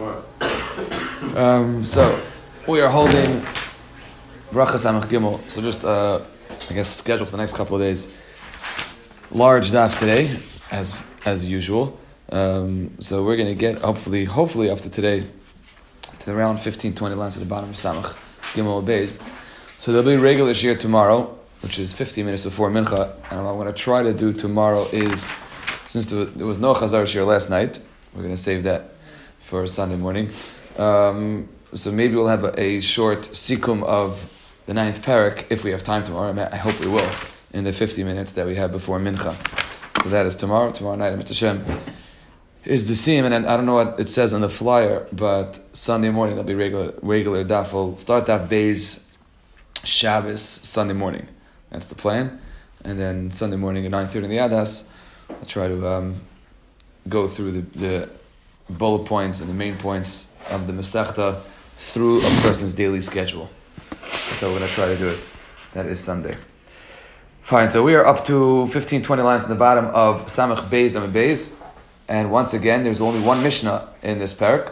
So we are holding Bracha Samach Gimel. So just, I guess, schedule for the next couple of days. Large daf today, as usual. So we're going to get, hopefully up to today, to around 15-20 lines at the bottom of Samach Gimel Beis. So there'll be regular shir tomorrow, which is 15 minutes before Mincha. And what I'm going to try to do tomorrow is, since there was no Chazar shir last night, we're going to save that for Sunday morning. So maybe we'll have a short sikum of the 9th parak if we have time tomorrow. I hope we will, in the 50 minutes that we have before Mincha. So that is tomorrow night, Amit Hashem, is the siyum. And I don't know what it says on the flyer, but Sunday morning there'll be regular daf. We'll start daf Beis Shabbos Sunday morning. That's the plan. And then Sunday morning at 9:30 in the Adas, I'll try to go through the bullet points and the main points of the Masechta through a person's daily schedule. That's how we're going to try to do it. That is Sunday. Fine, so we are up to 15-20 lines in the bottom of Samach Beis and Beis. And once again, there's only one Mishnah in this parak.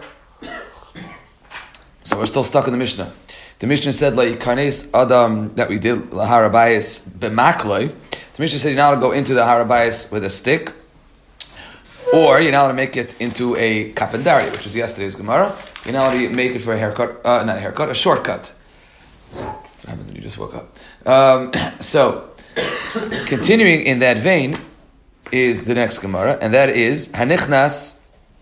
So we're still stuck in the Mishnah. The Mishnah said, Kanes Adam, that we did, Lahar Habayis B'makloi. The Mishnah said you're not allowed to go into the Har Habayis with a stick, or you're not allowed to make it into a kapendari, which was yesterday's Gemara. You're not allowed to make it for a haircut, a shortcut. That's what happens when you just woke up. So, continuing in that vein is the next Gemara, and that is Hanichnas.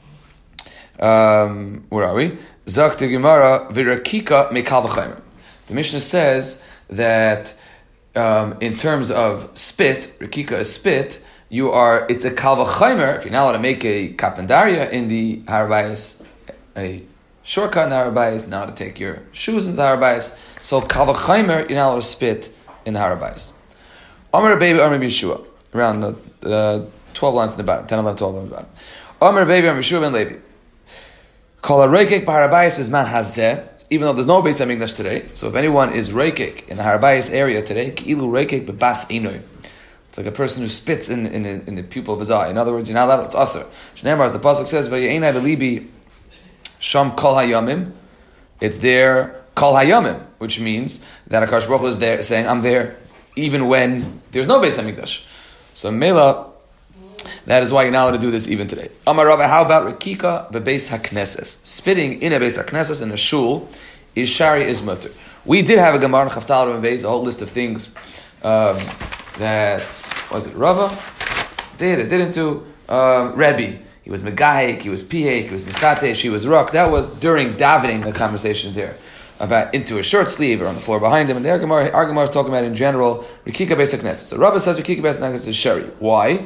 Where are we? Zak the Gemara v'rakika mekal v'chaymer. The Mishnah says that in terms of spit, rakika is spit. It's a kal v'chaymer. If you're not allowed to make a kapendaria in the Har Habayis, a shortcut in the Har Habayis, not to take your shoes into the Har Habayis. So kal v'chaymer, you're not allowed to spit in the Har Habayis. Amar Baby, Amar Yeshua, around the 12 lines in the bottom, 10, 11, 12 lines in the bottom. Amar Baby, Amar Yeshua ben Levi. Kol ha-reikek b'Har Habayis v'zman hazeh, even though there's no Beis HaMikdash today. So if anyone is reikek in the Har Habayis area today, ki'ilu reikek b'bas einoi. It's like a person who spits in the pupil of his eye. In other words, you're not allowed, it's aser. Shneimar, as the pasuk says, v'ye'enai v'libi sham kol hayamim. It's there kol hayamim, which means that HaKadosh Baruch Hu is there saying, I'm there even when there's no Beis HaMikdash. So Mela, that is why you're not allowed to do this even today. Amar Rabbi, how about Rekika bebeis hakneses? Spitting in a beis hakneses, in a shul, is shari, is mutter. We did have a Gemara in Chaftal and Beis, a whole list of things that, was it Rava? Didn't do. Rebbe. He was Megahik, he was Pihek, he was Nisatesh, he was Ruk. That was during davening, the conversation there. About into a short sleeve or on the floor behind him. And our Gemara is talking about in general, Rekika beis hakneses. So Rava says Rekika beis hakneses is shari. Why?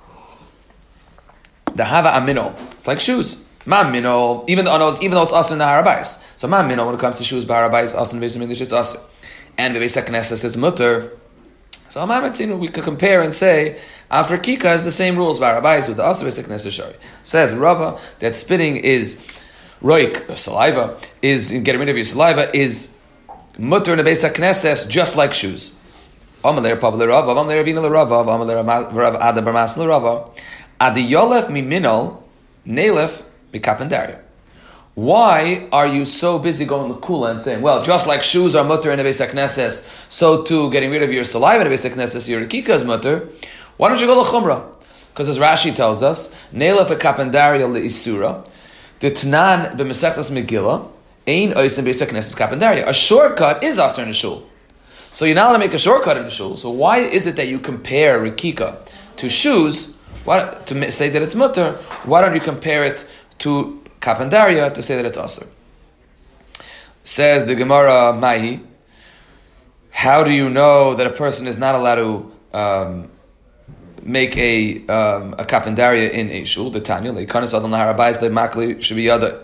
The hava amino. It's like shoes. Ma mino, even though it's also in the Har Habayis. So ma mino, when it comes to shoes, Har Habayis, also in Beis HaMikdash, it's also. And the Beis HaKnesses, it's mutter. So we could compare and say, after Kika is the same rules, Har Habayis, with the also Beis HaKnesses shari. Says Rava, that spitting is roik, or saliva, is getting rid of your saliva, is mutter in the Beis HaKnesses, just like shoes. Amalei Pavle Rava, Amalei Ravina Rava, Amalei Rav Ada Barmas Rava. Adi Yolef miminol, Nelef mikapendaria. Why are you so busy going L'kula and saying, well, just like shoes are mutter in the Beis HaKnesses, so too getting rid of your saliva in the Beis HaKnesses, your Rekika is mutter. Why don't you go L'chumra? Because as Rashi tells us, Nelef mikapendaria le'isura, the Tanan b'Masechtas Megillah, ein ois in Beis HaKnesses kapendaria. A shortcut is aser in a shul. So you're not allowed to make a shortcut in a shul. So why is it that you compare Rekika to shoes? To say that it's mutter, why don't you compare it to kapendaria to say that it's aser? Says the Gemara Mahi, how do you know that a person is not allowed to make a kapendaria in a shul? The Tanya, leikanis adam lahar habayis lemakli should be yada.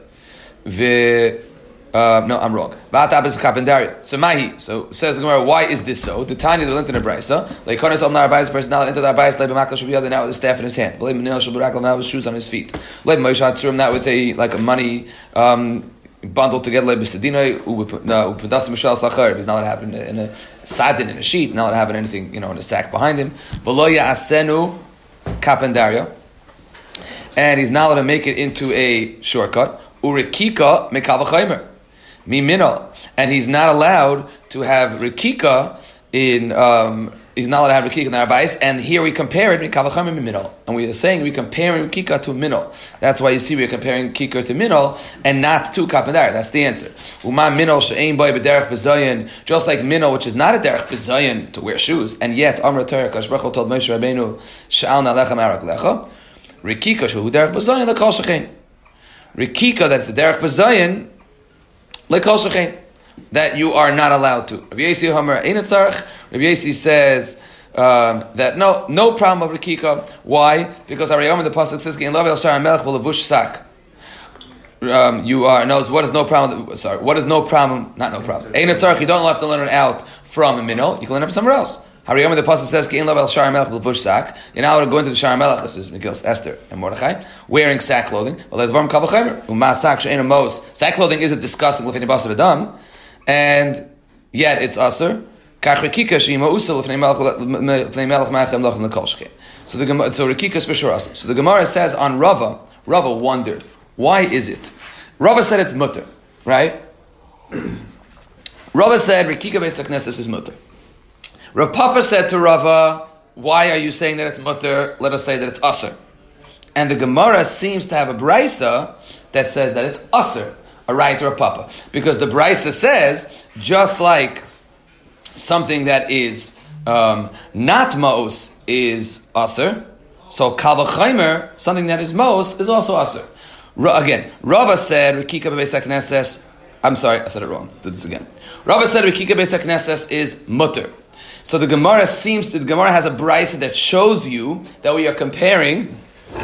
No, I'm wrong. So Mahi. So says the Gemara, why is this so? The Tanya they learned in the Brisa. Like Konas al Nar Habayis, person now into the Habayis, like B'makla should be other now with a staff in his hand. Like Menil Shaburakal now with shoes on his feet. Like Moshe Hatzurim now with a money bundled together like B'Sedina U'Pedas Mishal Slachar. He's not allowed to have it in a sadin, in a sheet. Not allowed to have it in anything in a sack behind him. V'lo Ya'asenu Kapendaria, and he's not allowed to make it into a shortcut. Urikika mekal v'chaymer. Miminol. And he's not allowed to have rikika in, he's not allowed to have rikika in the Arabais, and here we compare it mekal v'chaymer miminol. And we are saying we're comparing rikika to minol. That's why you see we're comparing rikika to minol and not to kapandar. That's the answer. Uma minol she'ein boy b'derech b'zayin, just like minol, which is not a derech b'zayin to wear shoes, and yet Amr Torah Kadosh Baruch Hu told Moshe Rabbeinu sha'al na'alecha ma'arak lecha. Rikika shehu derech b'zayin lekol shechein. Rikika, that's a derech b'zayin, lekol shechein, that you are not allowed to. Rabbi Yossi Homer ein tzarich. Rabbi Yossi says that no problem of rikika. Why? Because Arayom, the pasuk says, "Gein lav el shar melech v'levush sak." You are knows what is no problem. Sorry, what is no problem? Not no problem. Ein tzarich. You don't have to learn it out from a minol. You can learn it from somewhere else. Hariyom, the pasuk says, "Gein lav el shar melech v'levush sak." You're now going to the shar melech. This is Megillas Esther and Mordechai wearing sack clothing. Well, the dvarim kal v'chaymer u'ma sak she'ein mos. Sack clothing isn't disgusting with any basar adam, and yet it's aser. So the Rikika is for sure awesome. So the Gemara says on Rava wondered, why is it? Rava said it's mutter, right? Rava said Rikika Beis HaKnesses is mutter. Rav Papa said to Rava, why are you saying that it's mutter? Let us say that it's aser. And the Gemara seems to have a brisa that says that it's aser, a right to Rav Papa. Because the brisa says, just like something that is not ma'os is aser, so kal v'chaymer, something that is ma'os, is also aser. Again, Rava said Rikika Beis HaKnesses. I'm sorry, I said it wrong. Do this again. Rava said Rikika Beis HaKnesses is mutter. So the Gemara has a brisa that shows you that we are comparing.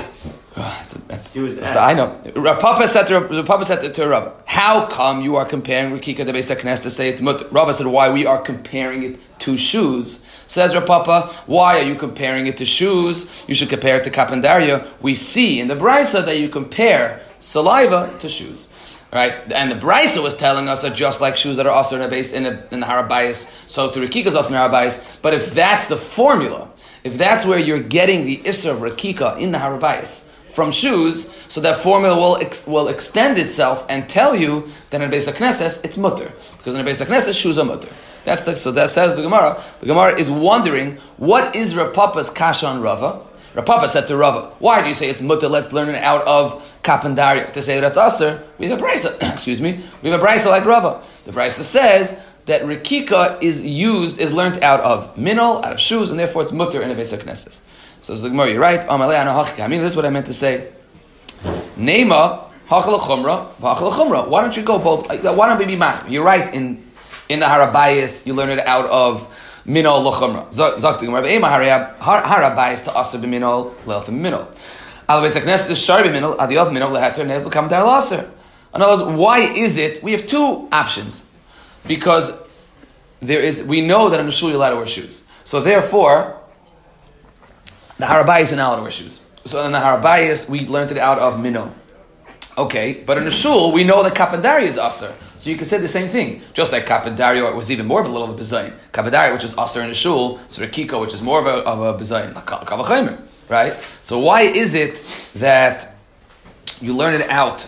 I know. Rav Papa said to Rava, how come you are comparing Rikika the Beis HaKnesses to say it's mutter? Rava said, why we are comparing it to shoes. Says Rav Papa, why are you comparing it to shoes? You should compare it to kapandaria. We see in the brisa that you compare saliva to shoes. Right? And the brisa was telling us that just like shoes that are also in the Harabayas, so to Rikika is also in the Harabayas. But if that's the formula, if that's where you're getting the Isser of Rikika in the Harabayas from shoes, so that formula will extend itself and tell you that in Beis HaKnesses it's mutter, because in Beis HaKnesses shoes are mutter. So that says the Gemara. The Gemara is wondering, what is Rav Papa's kasha on Rava? Rav Papa said to Rava, why do you say it's mutter? Let's learn it out of kapandaria to say that's aser. We have a brisa. Excuse me. We have a brisa like Rava. The brisa says that Rikika is learned out of minol, out of shoes, and therefore it's mutter in a Beis HaKnesses. So the Gemara, you're right. I mean, this is what I meant to say. Neima hachal chumra v'hachal chumra. Why don't you go both? Why don't we be mach? You're right. In the Harabayas, you learn it out of minol l'chumra. Zok the Gemara, be'ema Harabayas to aser b'minol le'elf b'minol. Al Beis HaKnesses the shar b'minol adiyot minol leheter ne'el become dar l'aser. In other words, why is it? We have two options, because we know that in the shul you're allowed to wear shoes. So therefore, the Harabayas are not allowed to wear shoes. So in the Harabayas, we learned it out of minol. Okay, but in the shul, we know that kapandaria is aser. So you can say the same thing. Just like kapandaria was even more of a little of a bezayin. Kapandaria, which is aser in the shul, so Rikika, which is more of a bezayin, kal v'chaymer, right? So why is it that you learn it out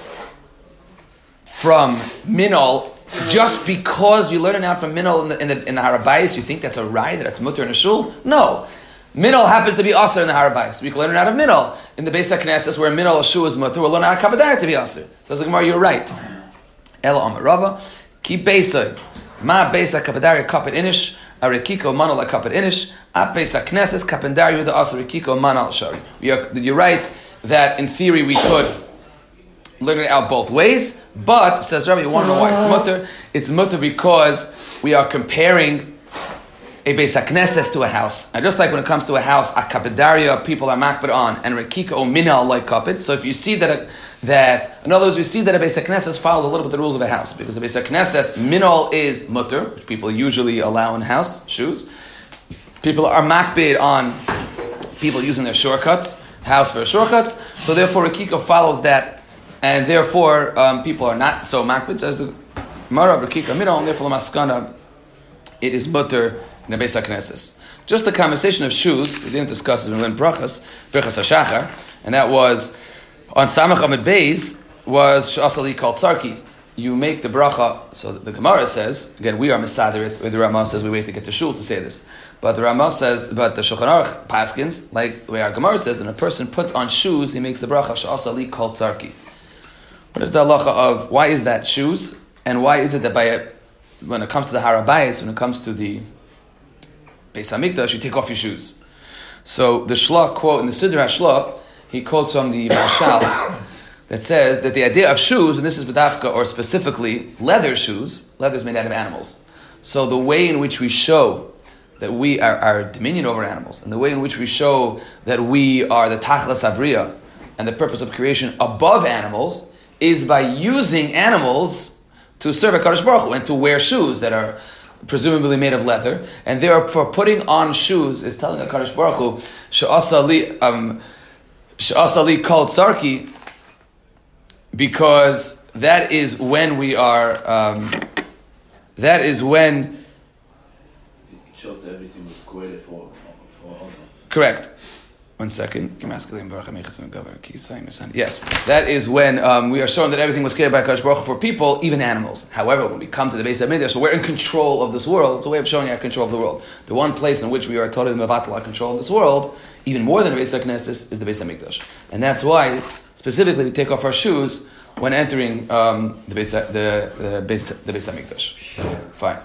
from minol, just because you learn it out from minol in the Harabayas, you think that's a raya, that it's mutter in the shul? No. Minol happens to be aser in the Harabayas. We can learn it out of minol. In the Beis HaKnesses, where minol shu is mutter, we'll learn out of kapandaria to be aser. So the Gemara, you're right. Ela Amar Rava, ki beisay, ma beisa kapandaria kapet inish, a Rikiko manol a kapet inish, a Beis HaKnesses kapandaria the aser Rikiko manol shari. You're right that in theory we could learn it out both ways, but says Rabbi, you want to know why it's mutter? It's mutter because we are comparing a Beis HaKnesses to a house. And just like when it comes to a house, a kapedaria people are makbid on, and Rikika o minal like kaped. So if you see that in other words, we see that a Beis HaKnesses follows a little bit the rules of a house, because a Beis HaKnesses minal is mutter, which people usually allow in house shoes. People are makbid on people using their shortcuts, house for shortcuts. So therefore, Rikika follows that, and therefore people are not so makbid. Says the Mara Rikika minal, and therefore Maskana, it is mutter in the Beis HaKnesses. Just the conversation of shoes, we didn't discuss it in Brachas HaShachar, and that was on Samach Amid Beis, was Shasali called Tzarki. You make the bracha, so the Gemara says, again, we are Mesader, where the Ramah says we wait to get to Shul to say this. But the Ramah says, but the Shulchan Aruch paskins, like the way our Gemara says, when a person puts on shoes, he makes the bracha, Shasali called Tzarki. What is the halacha of, why is that shoes? And why is it that when it comes to the Harabayis, when it comes to the Beis HaMikdash, you take off your shoes? So the Shlah quote, in the Siddur HaShlah, he quotes from the Mashal, that says that the idea of shoes, and this is B'dafka, or specifically leather shoes, leather is made out of animals. So the way in which we show that we are our dominion over animals, and the way in which we show that we are the Tachlas Abriya, and the purpose of creation above animals, is by using animals to serve HaKadosh Baruch Hu, and to wear shoes that are presumably made of leather, and therefore putting on shoes is telling HaKadosh Baruch Hu, She'asali called Tzarki, because that is when we are. That is when. It shows that everything was created for Allah. Correct. 1 second. Yes, that is when we are showing that everything was created by Kadosh Baruch Hu for people, even animals. However, when we come to the Beis HaMikdash, so we're in control of this world. It's a way of showing our control of the world. The one place in which we are totally mevatel our control of this world, even more than the Beis HaKnesses, is the Beis HaMikdash, and that's why specifically we take off our shoes when entering the Beis HaMikdash. Fine.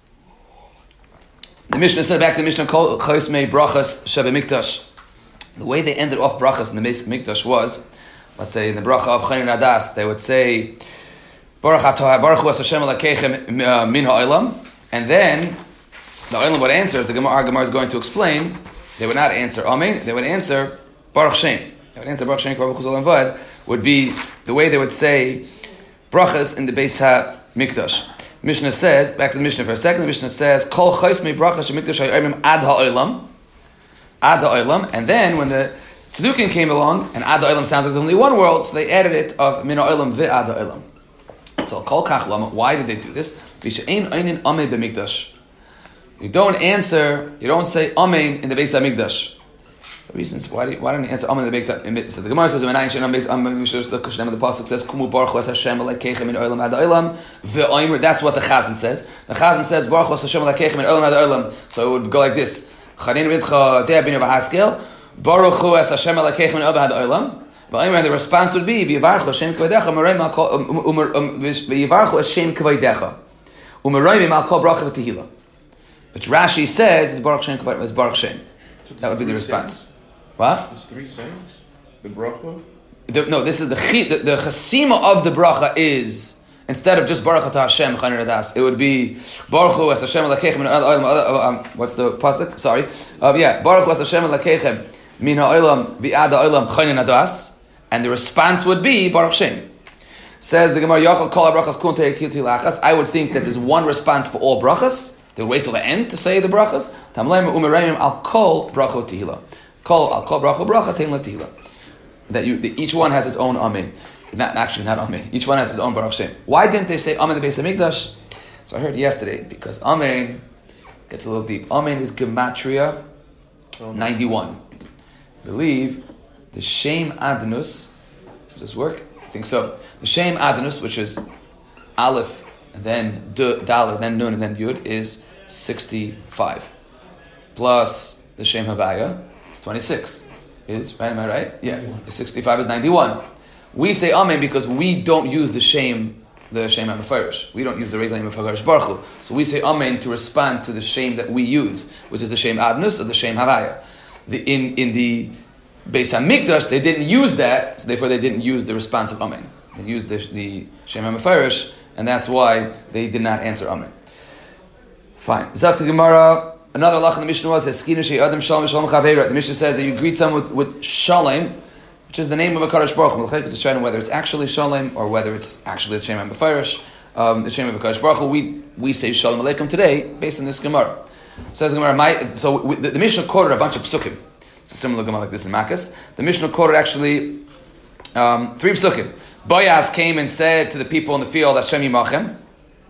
The Mishnah said back to the Mishnah, Kol Chos Mei Brachas Shebe Mikdash. The way they ended off brachas in the Beis HaMikdash was, let's say in the bracha of Chayin Adas, they would say, Baruch Hu Hashem Elokeichem min ha'olam, and then the olam would answer, our Gemara is going to explain, they would not answer Amen, they would answer Baruch Shem. They would answer Baruch Shem, Baruch Hu ZolVad, would be the way they would say brachas in the Beis HaMikdash. Mishnah says, back to the Mishnah for a second, the Mishnah says, Kol Chos Mei Brachas Shemikdash Ha'yomim Ad Ha'olam, Ad Ha'olam, and then when the Tzedukim came along, and Ad Ha'olam sounds like there's only one world, so they added it of Min Ha'olam Ve'ad Ha'olam. So Kol Kach Lama, why did they do this? V'she'ein Einin Amen B'Mikdash. You don't say Amen in the Beis HaMikdash. The reasons why don't you answer Amen in the Beis HaMikdash? So the Gemara says, when I answer Amen, the pasuk says, Kumu Baruch Hu Hashem Elokeichem min ha'olam ad ha'olam ve'omer. That's what the Chazan says. The Chazan says, Baruch Hu Hashem Elokeichem min ha'olam ad ha'olam. So it would go like this. Baruch Hu Hashem Elokeichem min ha'olam ad ha'olam. And the response would be, V'yivarchu Hashem k'vaydecha u'meroimim al kol bracha v'tehila. Which Rashi says is Baruch Shem k'vaydecha, is Baruch Shem. That would be the response. What? There's 3 sayings. The bracha. This is the chasima of the bracha is, instead of just Baruch Atah Hashem Chayin Adas, it would be Baruch Hu Es Hashem Elokeichem min ha'olam. What's the pasuk? Sorry. Baruch Hu Es Hashem Elokeichem min ha'olam v'ad ha'olam Chayin Adas, and the response would be Baruch Shem. Says the Gemara, Yachal Kol HaBrachas Kun Te'ekil Tilachas. I would think that there's one response for all brachas. They wait till the end to say the brachas. Tamleim u'mereimim al kol bracho tehila. Kol al kol bracho bracha tein la tehila. That each one has its own amen. Not amen. Each one has its own Baruch Shem. Why didn't they say amen in the Beis HaMikdash? So I heard yesterday, because amen gets a little deep. Amen is gematria 91. I believe the Shem Adonus. Does this work? I think so. The Shem Adonus, which is Aleph, and then Dalet, then Nun, and then Yud, is 65. Plus the Shem Havaya is 26. Right? Am I right? Yeah. 65 is 91. We say Amen because we don't use the Shem HaMefarish. We don't use the regular name of HaKadosh Baruch Hu. So we say Amen to respond to the Shem that we use, which is the Shem Adnus or the Shem Havaya. In the Beis HaMikdash, they didn't use that, so therefore they didn't use the response of Amen. They used the Shem HaMefarish, and that's why they did not answer Amen. Fine. Zakta Gemara. Another lach in the Mishnah was the Mishnah says that you greet someone with Shalom, which is the name of a Kadosh Baruch Hu. Because it's showing whether it's actually Shalom or whether it's actually the Shem HaMefarish, the Shem of a Kadosh Baruch Hu. We say Shalom Aleichem today based on this Gemara. Says the Gemara, the Mishnah quoted a bunch of psukim. It's a similar Gemara like this in Makkas. The Mishnah quoted actually 3 psukim. Boaz came and said to the people in the field, Hashem Yimachem.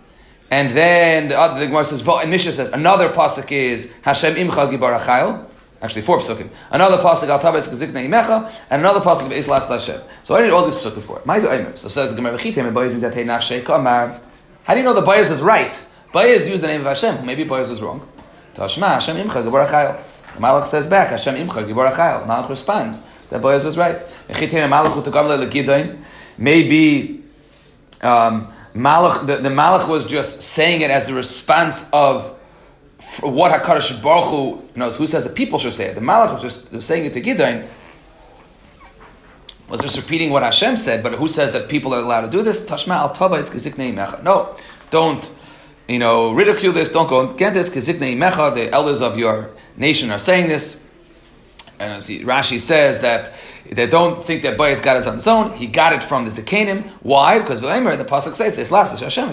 And then the Gemara says, and Mishnah says, another pasuk is Hashem Imcha Gibar Achayil. Actually, 4 psukim. Another pasuk al tabes kazikna imecha, and another pasuk of Eis Las Hashem. So I did all these psukim before. My Aimer. So says the Gemara V'chitem and Bayez midatei nafshei kamar. How do you know the Bayez was right? Bayez used the name of Hashem. Maybe Bayez was wrong. Tashma Hashem imcha gibor achayil. The Malach says back Hashem imcha gibor achayil. Malach responds that Bayez was right. V'chitem and Malach u'tegamle legidayin. Maybe Malach the Malach was just saying it as a response of what HaKadosh Baruch Hu knows. Who says the people should say it? The Malach was saying it to Gideon, was just repeating what Hashem said, but who says that people are allowed to do this? Tashma al tava is kiziknei mecha. No, don't, ridicule this, don't go against this, kiziknei mecha, the elders of your nation are saying this. And as Rashi says that they don't think that Bayez got it on his own, he got it from the Zekanim. Why? Because the Pasuk says, Hashem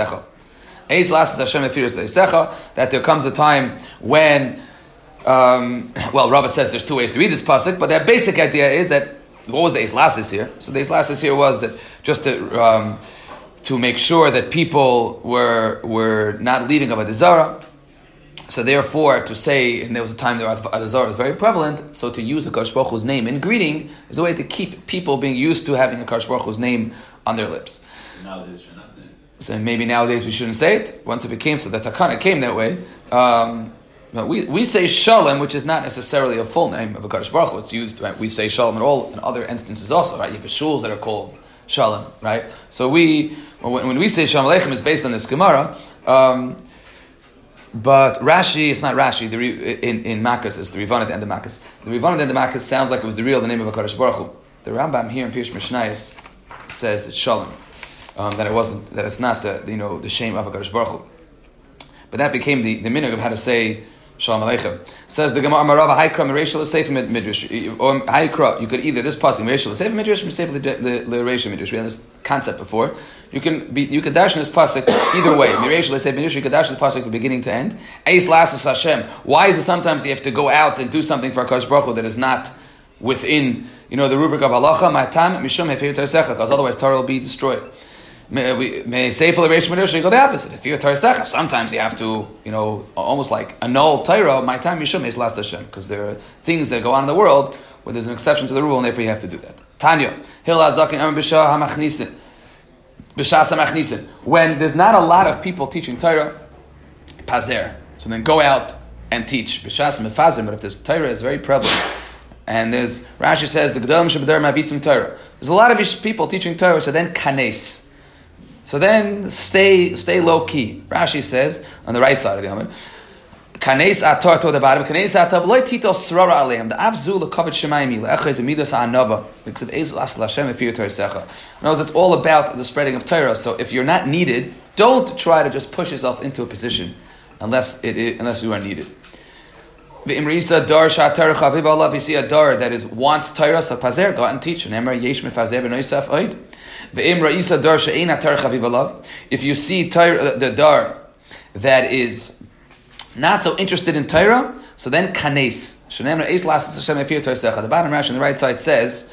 that there comes a time when, Rava says there's 2 ways to read this pasuk, but their basic idea is that, what was the Eis Lasis here? So the Eis Lasis here was that just to make sure that people were not leaving Avodah Zarah. So therefore, to say, and there was a time that Avodah Zarah was very prevalent, so to use HaKadosh Baruch Hu's name in greeting is a way to keep people being used to having HaKadosh Baruch Hu's name on their lips. Nowadays you're not saying it. So maybe nowadays we shouldn't say it. Once it became so, the Takana came that way. We say Shalom, which is not necessarily a full name of HaKadosh Baruch Hu. It's used, right? We say Shalom in other instances also, right? You have shuls that are called Shalom, right? So when we say Shalom Aleichem, it's based on this Gemara. But Rashi, it's not Rashi. In Makkas, it's the Rivan at the end of Makkas. The Rivan at the end of Makkas sounds like it was the name of HaKadosh Baruch Hu. The Rambam here in Pirush Mishnayos says it's Shalom. That it's not the shame of HaKadosh Baruch Hu. But that became the minhag of how to say Shalom Aleichem. Says the Gemara Marava Haikra Mereishal Sefer Midrash. Or Haikra, you could either this passing Mereishal Sefer Midrash or Sefer Lereishal Midrash. We had this concept before. You could dash in this pasuk either way. Mereishal Sefer Midrash. You could dash in this pasuk from beginning to end. Eis Lasis Hashem. Why is it sometimes you have to go out and do something for HaKadosh Baruch Hu that is not within the rubric of halacha? Ma'atam mishum hefer teisecha, because otherwise Torah will be destroyed. May say for the Reish Midrash, you go the opposite. If you're Torah, sometimes you have to, almost like annul Torah. My time Yishum is last Hashem, because there are things that go on in the world where there's an exception to the rule, and therefore you have to do that. Tanya, Hil Azakin Amr B'Shah HaMachnisin, B'Shas HaMachnisin. When there's not a lot of people teaching Torah, Pazer. So then go out and teach B'Shas Mefazer. But if this Torah is very prevalent, and there's Rashi says the Gedolim Shabbatar Mavitzim Torah. There's a lot of people teaching Torah. So then Kanes. So then stay low key. Rashi says on the right side of the Amud, Kanes atar to the bottom. Kanes atav loy tito srara aleim. The avzu lekavet shemayim le'echez emidas ha'anava because of Eis Las Hashem efir Torah. In other words, it's all about the spreading of Torah. So if you're not needed, don't try to just push yourself into a position unless you are needed. V'imrisa dar shatar chaviv Allah. If you see a dar that wants Torah, so pazer, go out and teach. And emra yesh mefazer v'noisaf oid. If you see the dar that is not so interested in Torah, so then kanes. The bottom Rashi on the right side says,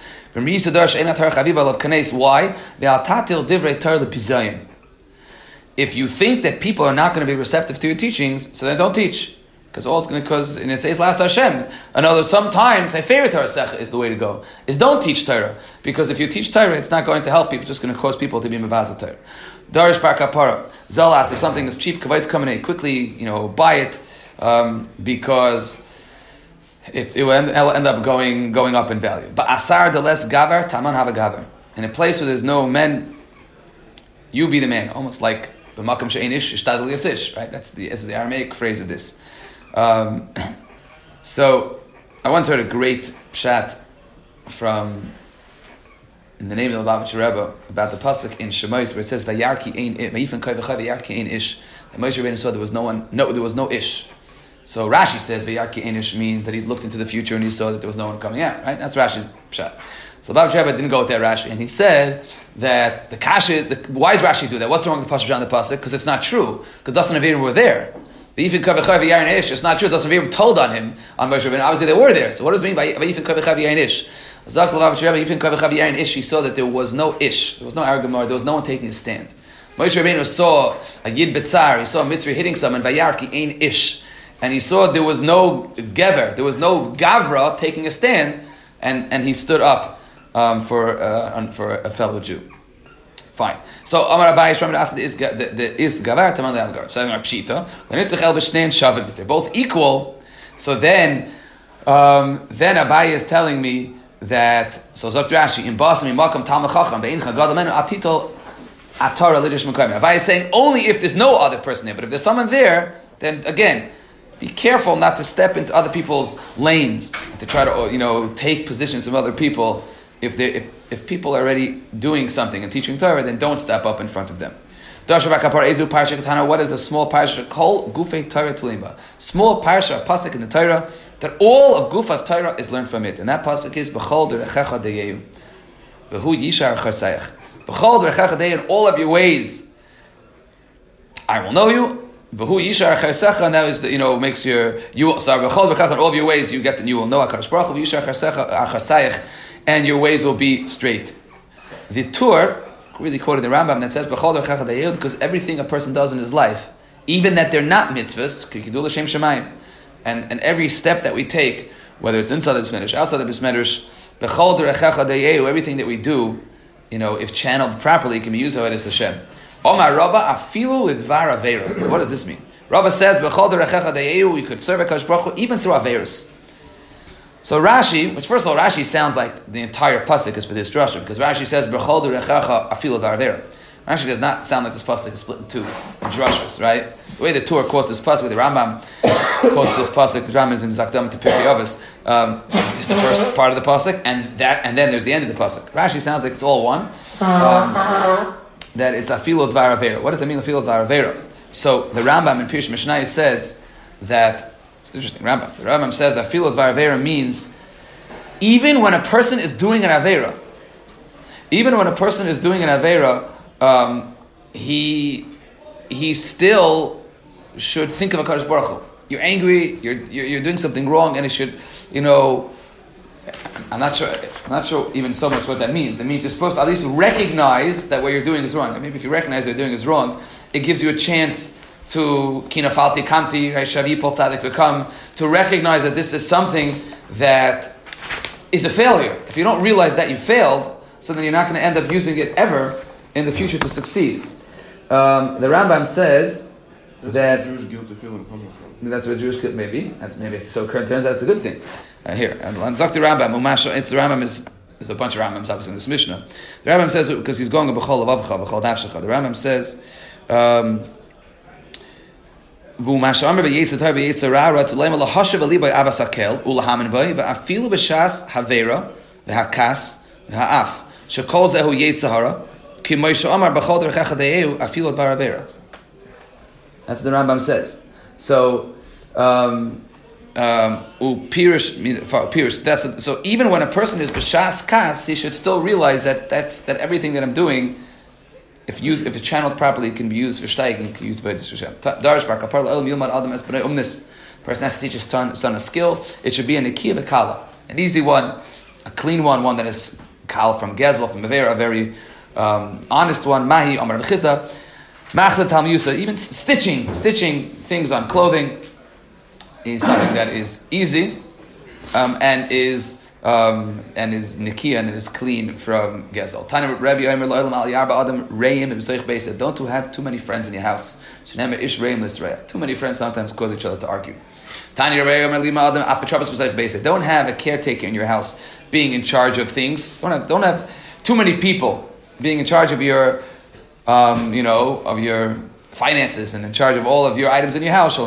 why? If you think that people are not going to be receptive to your teachings, so then don't teach. Because and it says last Hashem. Another sometimes Sefer Torah Secha is the way to go. Is don't teach Torah, because if you teach Torah, it's not going to help people. It's just going to cause people to be mevazal Torah. Darish par kapara zalas. If something is cheap, kavayit's coming in quickly. Buy it because it will end up going up in value. But asar the less gavar taman have a gavar. In a place where there's no men, you be the man. Almost like b'makam she'ein ish ishtadel yasish. Right? That's the Aramaic phrase of this. So I once heard a great pshat from in the name of the Lubavitcher Rebbe about the pasuk in Shemais where it says Vayarki ein Vayifan Kai V'Chai Vayarki ein ish. That Moshe Rabbeinu saw there was no ish. So Rashi says Vayarki ein ish means that he looked into the future and he saw that there was no one coming out. Right? That's Rashi's pshat. So the Lubavitcher Rebbe didn't go with that Rashi, and he said that why does Rashi do that? What's wrong with the pasuk on the pasuk? Because it's not true. Because Dasan and Aviram were there. It's not true. It doesn't even told on him on Moshe Rabbeinu. Obviously, they were there. So what does it mean by Vayifin Kavichav Yain Ish? He saw that there was no ish, there was no Aragamar, there was no one taking a stand. Moshe Rabbeinu saw a Yid Betzar, he saw a Mitzri hitting someone, Vayarki Ein Ish, and he saw there was no gever, there was no gavra taking a stand, and he stood up for a fellow Jew. Fine. So Amar Abaye Shram asked the is gavar taman le'algar. So Pshita, they're both equal. So then Abaye is telling me that Zok Rashi in Basmi Makam Talmud Chacham Be'incha Gadamenu Atitol Atara Lidish Mekayim. Abaye is saying only if there's no other person there, but if there's someone there, then again, be careful not to step into other people's lanes and to try to take positions from other people. If people are already doing something and teaching Torah, then don't step up in front of them. What is a small parsha called? Gufei Torah Tulimba. Small parsha, pasuk in the Torah, that all of Guf of Torah is learned from it. And that pasuk is B'chol derechecha deyehu. V'hu yishar charsayach. B'chol derechecha deyehu, in all of your ways, I will know you. V'hu yishar charsecha, and that is makes b'chol derechecha, in all of your ways you get, and you will know HaKadosh Baruch Hu. Yishar charsayach, and your ways will be straight. The Tur really quoted the Rambam that says because everything a person does in his life, even that they're not mitzvahs, and every step that we take, whether it's inside the Bais Medrash, outside the Bais Medrash, everything that we do, if channeled properly, can be used by Hashem. Omar Rava afilu lidvar avera. So what does this mean? Rava says we could serve HaKadosh Baruch Hu even through averos. So Rashi, which first of all, Rashi sounds like the entire pasuk is for this drasha, because Rashi says B'chol derechecha afilu v'arvera. Rashi does not sound like this pasuk is split in two drashas, right? The way the Torah quotes this pasuk, the Rambam quotes this pasuk. The Rambam is in Zakdam to Pirkei Avos. It's the first part of the pasuk, and then there's the end of the pasuk. Rashi sounds like it's all one. That it's afilu v'arvera. What does it mean afilu v'arvera? So the Rambam in Pirush Mishnayos says that. It's an interesting Rambam. The Rambam says afilu dvar avera means even when a person is doing an avera, he still should think of HaKadosh Baruch Hu. You're angry, you're doing something wrong, and it should, I'm not sure even so much what that means. It means you're supposed to at least recognize that what you're doing is wrong. And maybe if you recognize what you're doing is wrong, it gives you a chance to kinafalti kamti, shavi pol tzadik v'kam, to recognize that this is something that is a failure. If you don't realize that you failed, so then you're not going to end up using it ever in the future to succeed. The Rambam says that Jewish guilt the feeling coming from. That's what Jewish guilt maybe. Maybe it's so current. Turns out it's a good thing. Here, and Dr. Rambam, it's the Rambam is. There's a bunch of Rambams obviously in this Mishnah. The Rambam says because he's going b'chol avavcha, b'chol nafshecha. The Rambam says. V'u masha'amr b'yetzer tar b'yetzer ra ratzulema lahashav ali by Abbas Hakel ulahamin by v'afilu b'shas havera v'hakas v'ha'af shekol zehu yetzer hara ki Moshe Amar b'chol derechecha de'eu afilu dvar avera. That's what the Rambam says. So so even when a person is b'shas kas, he should still realize that everything that I'm doing, if it's channeled properly, it can be used for steiging, can be used for Hashem. Darish bar kapar la'olam yilmad adam es b'nei umnis. Person has to teach his son a skill. It should be an nikiya v'kala, an easy one, a clean one that is kal from gezel, from avera, a very honest one. Mahi Amar b'chizda, machla tal miyusa. Even stitching things on clothing is something that is easy and is nikia and is clean from gezel. Tanya Rabbi Omer lo'olam al yarba adam reim b'seich beis. Don't have too many friends in your house. Shenema ish reim l'sreya. Too many friends sometimes cause each other to argue. Tanya Rabbi Omer lima adam apatrabas b'seich beis. Don't have a caretaker in your house being in charge of things. Don't have too many people being in charge of your of your finances and in charge of all of your items in your house.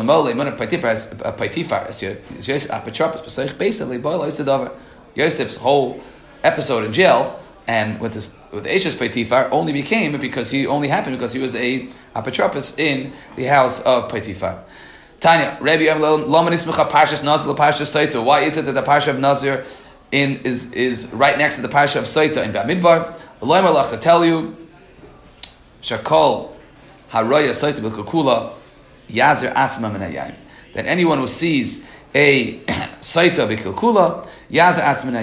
Yosef's whole episode in jail and with Eshes Potiphar only became because he was a apotropos in the house of Potiphar. Tanya, Rabbi Parshas Nazir, Parshas Saita. Why is it that the Parsha of Nazir is right next to the Parsha of Saita in Bamidbar? To tell you, Shakol Haraya Saita B'Kukula Yazir Atzma Min Hayayim. That anyone who sees a Saita B'Kukula Yazir Atzma Min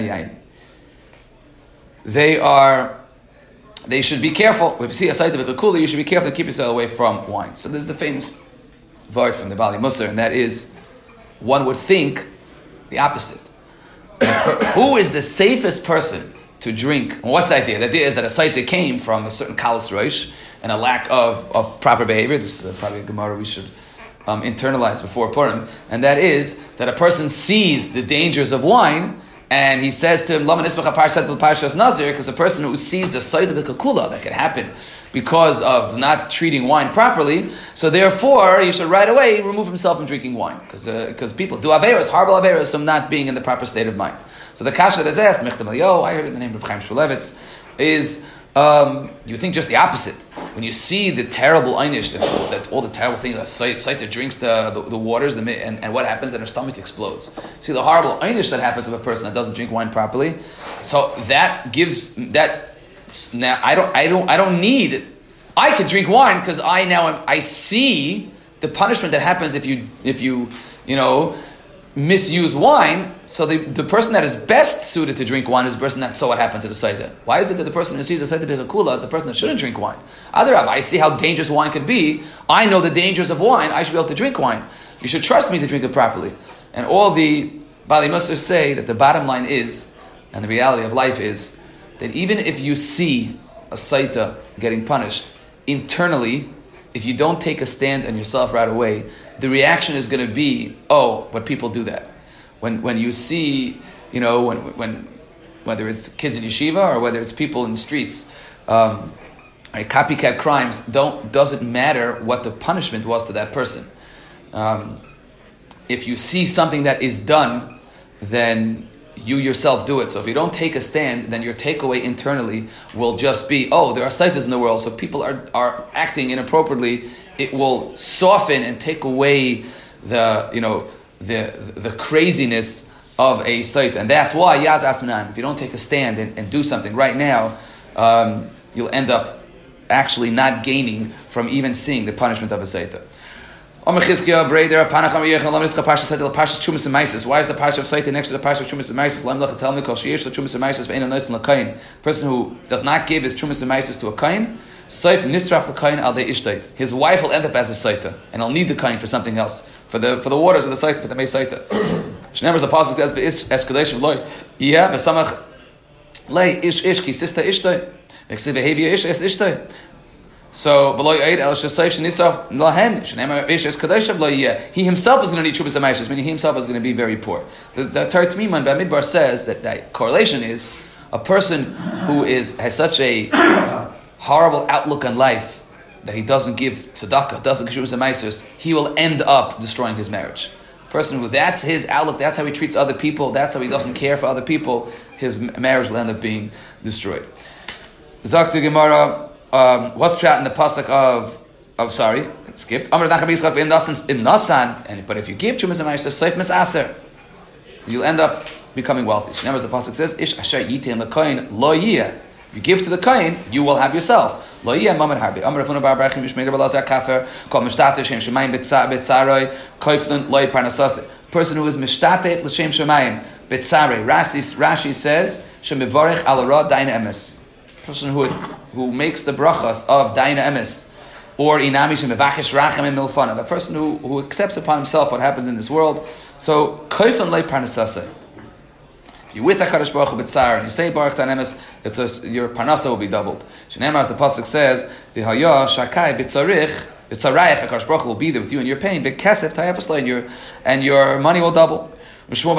Hayayim. They should be careful. If you see a Saita B'Kukula, you should be careful to keep yourself away from wine. So there's the famous word from the Bali Musar, and that is one would think the opposite. Who is the safest person to drink? And what's the idea? The idea is that a saita came from a certain kalas roish and a lack of proper behavior. This is probably a Gemara we should internalize before Purim. And that is that a person sees the dangers of wine and he says to him, because a person who sees a saita b'kakula that can happen because of not treating wine properly, so therefore he should right away remove himself from drinking wine, because people do averos, horrible averos, from not being in the proper state of mind. So the kasha that is asked, I heard it in the name of Chaim Shmulevitz, is you think just the opposite. When you see the terrible einish, that all the terrible things, that Saita drinks the waters, and what happens, that her stomach explodes. See the horrible einish that happens of a person that doesn't drink wine properly. So that gives that. Now I don't need. I could drink wine because I see the punishment that happens if you misuse wine. So the person that is best suited to drink wine is the person that saw what happened to the Saita. Why is it that the person who sees the Saita B'Chakula is the person that shouldn't drink wine? Otherwise, I see how dangerous wine could be. I know the dangers of wine. I should be able to drink wine. You should trust me to drink it properly. And all the Bali Musar say that the bottom line is, and the reality of life is, that even if you see a Saita getting punished, internally, if you don't take a stand on yourself right away, the reaction is going to be, oh, but people do that. When you see, when whether it's kids in yeshiva or whether it's people in the streets, copycat crimes doesn't matter what the punishment was to that person. If you see something that is done, then you yourself do it. So if you don't take a stand, then your takeaway internally will just be, oh, there are saitas in the world, so people are acting inappropriately. It will soften and take away the craziness of a saita. And that's why, Yaz Asmanayim, if you don't take a stand and do something right now, you'll end up actually not gaining from even seeing the punishment of a saita. Why is the parsha of Saita next to the parsha of Chumas and Maisis? Person who does not give his Chumas and Maisis to a kain, his wife will end up as a Saita, and he'll need the kain for something else, for the waters of the Saita, for the Mei Saita. Shneimar the pasuk as escalation loy, yeah, besamach lay ish ki sista ishtay, next behavior ish ishtay. So he himself is going to need Chubas HaMaishas, meaning he himself is going to be very poor. The Torah Tmiman Bamidbar says that correlation is a person who has such a horrible outlook on life that he doesn't give tzedakah, doesn't give Chubas HaMaishas, he will end up destroying his marriage. A person who that's his outlook, that's how he treats other people, that's how he doesn't care for other people, his marriage will end up being destroyed. Zakti Gemara. What's pshat in the pasuk of skipped. But if you give Chumas and Ma'aser Seif Misaser, you'll end up becoming wealthy. So as the pasuk says, Ish asher yitin lekoyin lo yiyeh. You give to the kohen, you will have yourself. Lo yiyeh mamad harbi. Amar Rafuna bar Barachim Mishmei Rabbi Lazar Kafer called Mishtatev Shem Shemayim Betzaroi Koiflin Loi Parnasase. Person who is Mishtatev L'Shem Shemayim Betzaroi. Rashi says Shemivorech Al Ra Daina Emes. Person who makes the brachas of Daina Emes, or Inami Shemevachesh Rachem and Milfanav, a person who accepts upon himself what happens in this world. So Koifan Lei Parnasase. If you're with HaKadosh Baruch Hu B'tzar and you say Baruch Daina Emes, your Parnasa will be doubled. Shneimar, as the pasuk says, V'haya Shakai B'tzarich HaKadosh Baruch Hu will be there with you in your pain. B'kesef Tayefas Lo, and your money will double. Your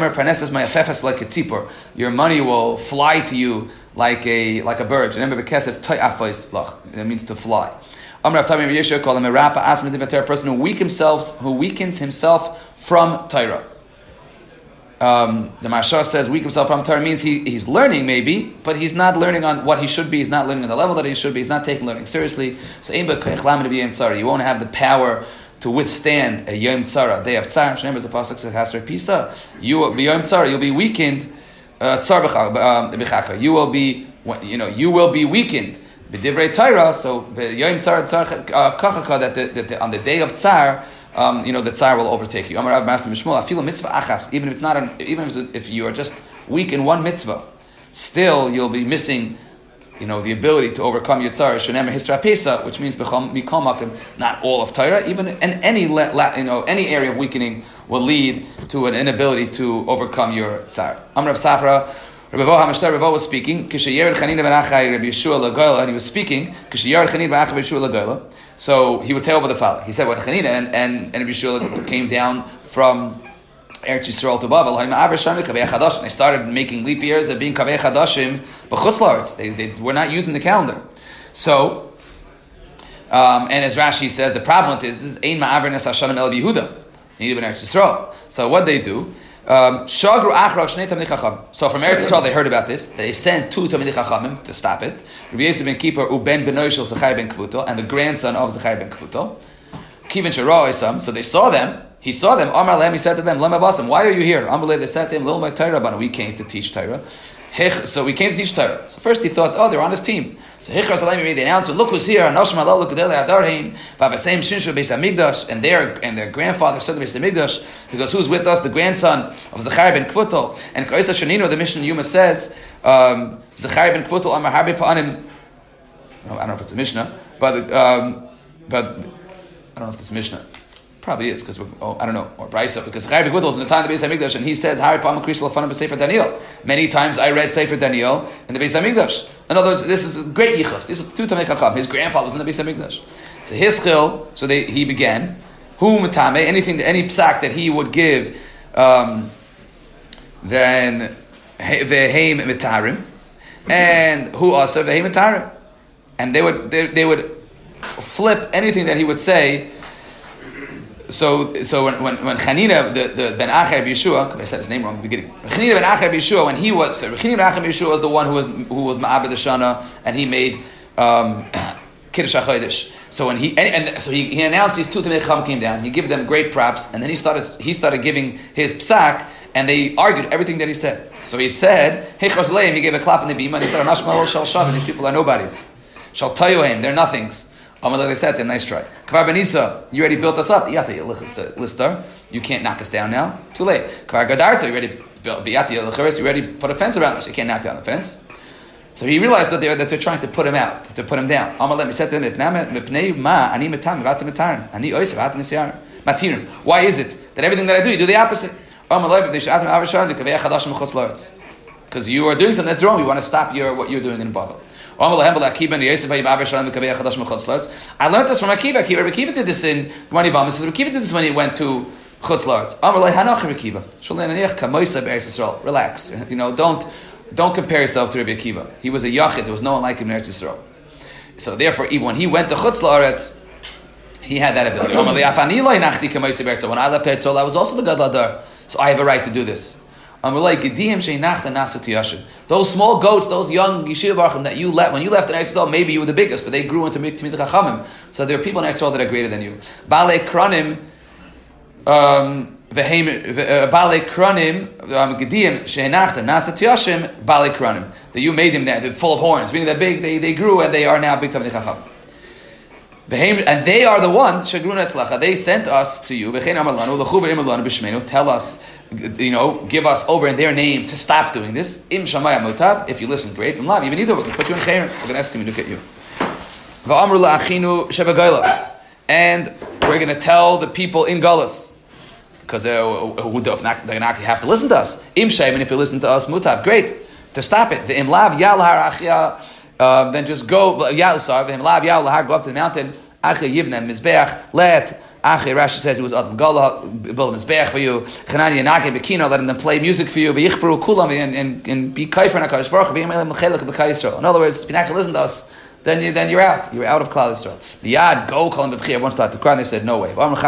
money will fly to you like a bird. Remember, that means to fly. A person who weakens himself from Torah. The Mashar says weak himself from Torah means he's learning maybe, but he's not learning on what he should be. He's not learning on the level that he should be. He's not taking learning seriously. So you won't have the power to withstand a Yom Tzara, day of Tzar. Shneim, as the pasuk says, Hasra Pisa. You will be Yom Tzara. You'll be weakened. You will be, you will be weakened. B'divrei Torah. So Yom Tzar Kachaka, that on the day of Tzar, the Tzar will overtake you. Amar Rav Master Mishmul. I feel a mitzvah achas. Even if it's not, if you are just weak in one mitzvah, still you'll be missing the ability to overcome Yitzhar, Shenem Hisra Pesa, which means Mikol, not all of Torah, even in any any area of weakening will lead to an inability to overcome your Tzar. Amr of Safra, Rabbi Hamashtar was speaking, Kishayer Chanina ben Achai Rabbi Yeshua Lagoyla, and he was speaking, Kishayer Chanina ben Achai Rabbi Yeshua Lagoyla. So he would tell over the following. He said, when Chanina and Rabbi Yeshua came down from Eretz Yisrael to Bavel, they started making leap years of being Kavei Chadashim, but Chutz La'aretz, they were not using the calendar. So, and as Rashi says, the problem with this is Ein Ma'aver Nes Hashanim El Yehuda, needed in Eretz Yisrael. So what they do? Shagru Achrav Shnei Tamidei Chacham. So from Eretz Yisrael they heard about this. They sent 2 Tamidei Chachamim to stop it. Rabbi Yosef ben Kippur uben Benoy Shel Zechariah ben Kvuto, and the grandson of Zechariah ben Kvuto. Kivin Shara Isam. So they saw them. He saw them. Amar Lehem, he said to them, Lema Basim, why are you here? Amar Lehem, they said to him, Lil my Torah, but we came to teach Torah. So we came to teach Torah. So first he thought, they're on his team. So Hichar Salayim made the announcement, look who's here, Anoshim Allah L'Kudele Adarheim, Vavasem Shinshu Beis HaMikdash, and their grandfather said to Beis HaMikdash, because who's with us? The grandson of Zechariah ben Kvuto. And Ka'isa Shanino, the Mishnah Yuma says, Zechariah ben Kvuto Amar Harbe Pa'anim, I don't know if it's a Mishnah, but I don't know if it's a Mishnah. Probably is, because I don't know, or Brisa, because Zechariah ben Kvuto was in the time of the Beis HaMikdash, and he says, Harbe Pa'anim Krishla Fanam B'Sefer Daniel. Many times I read Sefer Daniel in the Beis HaMikdash. In other words, this is a great yichus. This is 2 Tamei Chacham. His grandfather was in the Beis HaMikdash. So his chil, he began, hu matame, any psak that he would give, then veheim mitarim, and hu asa veheim mitarim, and they would flip anything that he would say. So when Chanina, the Ben Achai Rabbi Yeshua, I said his name wrong in the beginning. Chanina Ben Achai Rabbi Yeshua, when he was, Chanina Ben Achai Rabbi Yeshua was the one who was Ma'abed Shana, and he made Kiddush HaChodesh. So when he announced these 2 Tamei Chacham came down, he gave them great props, and then he started giving his psak, and they argued everything that he said. So he said, he gave a clap in the bima, and he said, Anashma Shal Shavin, these people are nobodies. Shal Tayohem, they're nothings. They said, nice try. Kvar Benisa, you already built us up. You can't knock us down now. Too late. Kvar Gadarta, you already put a fence around us. You can't knock down the fence. So he realized that they're trying to put him out, to put him down. He said to them, why is it that everything that I do, you do the opposite? Because you are doing something that's wrong. You want to stop what you're doing in Babel. I learned this from Akiva. Akiva did this in Gemara Yevamah. Says Akiva did this when he went to Chutz La'aretz. Relax. Don't compare yourself to Rabbi Akiva. He was a yachid. There was no one like him in Eretz Yisrael. So therefore, even when he went to Chutz La'aretz, he had that ability. When I left Eretz Yisrael, I was also the Gadol Adar. So I have a right to do this. Those small goats, those young yeshiva barachim that you left, when you left in Eretz Yisrael, maybe you were the biggest, but they grew into Tamidei Chachamim. So there are people in Eretz Yisrael that are greater than you. Balei Kronim, Balei Kronim, Gediyim shehenachta nasat yashim Balei Kronim. That you made them there, they're full of horns, meaning they're big, they grew and they are now big Tamidei Chachamim. And they are the ones, they sent us to you, tell us, give us over in their name to stop doing this. If you listen, great. From love, even either, we're going to put you in chayrim. We're going to excommunicate you. And we're going to tell the people in Galus, because they're going to have to listen to us. And if you listen to us, mutav, great, to stop it. Then just go, go up to the mountain, let Rashi says it was Adam Gala, build a mizbeach for you. Chanani and Naki Bekino, let them play music for you. V'yichperu kulam and be kaifer and Hakadosh Baruch Hu. In other words, if you're not going to listen to us, then you're out. You're out of Klal Yisrael. V'yad go call him b'vchi. Everyone started to cry. And they said, no way. No way.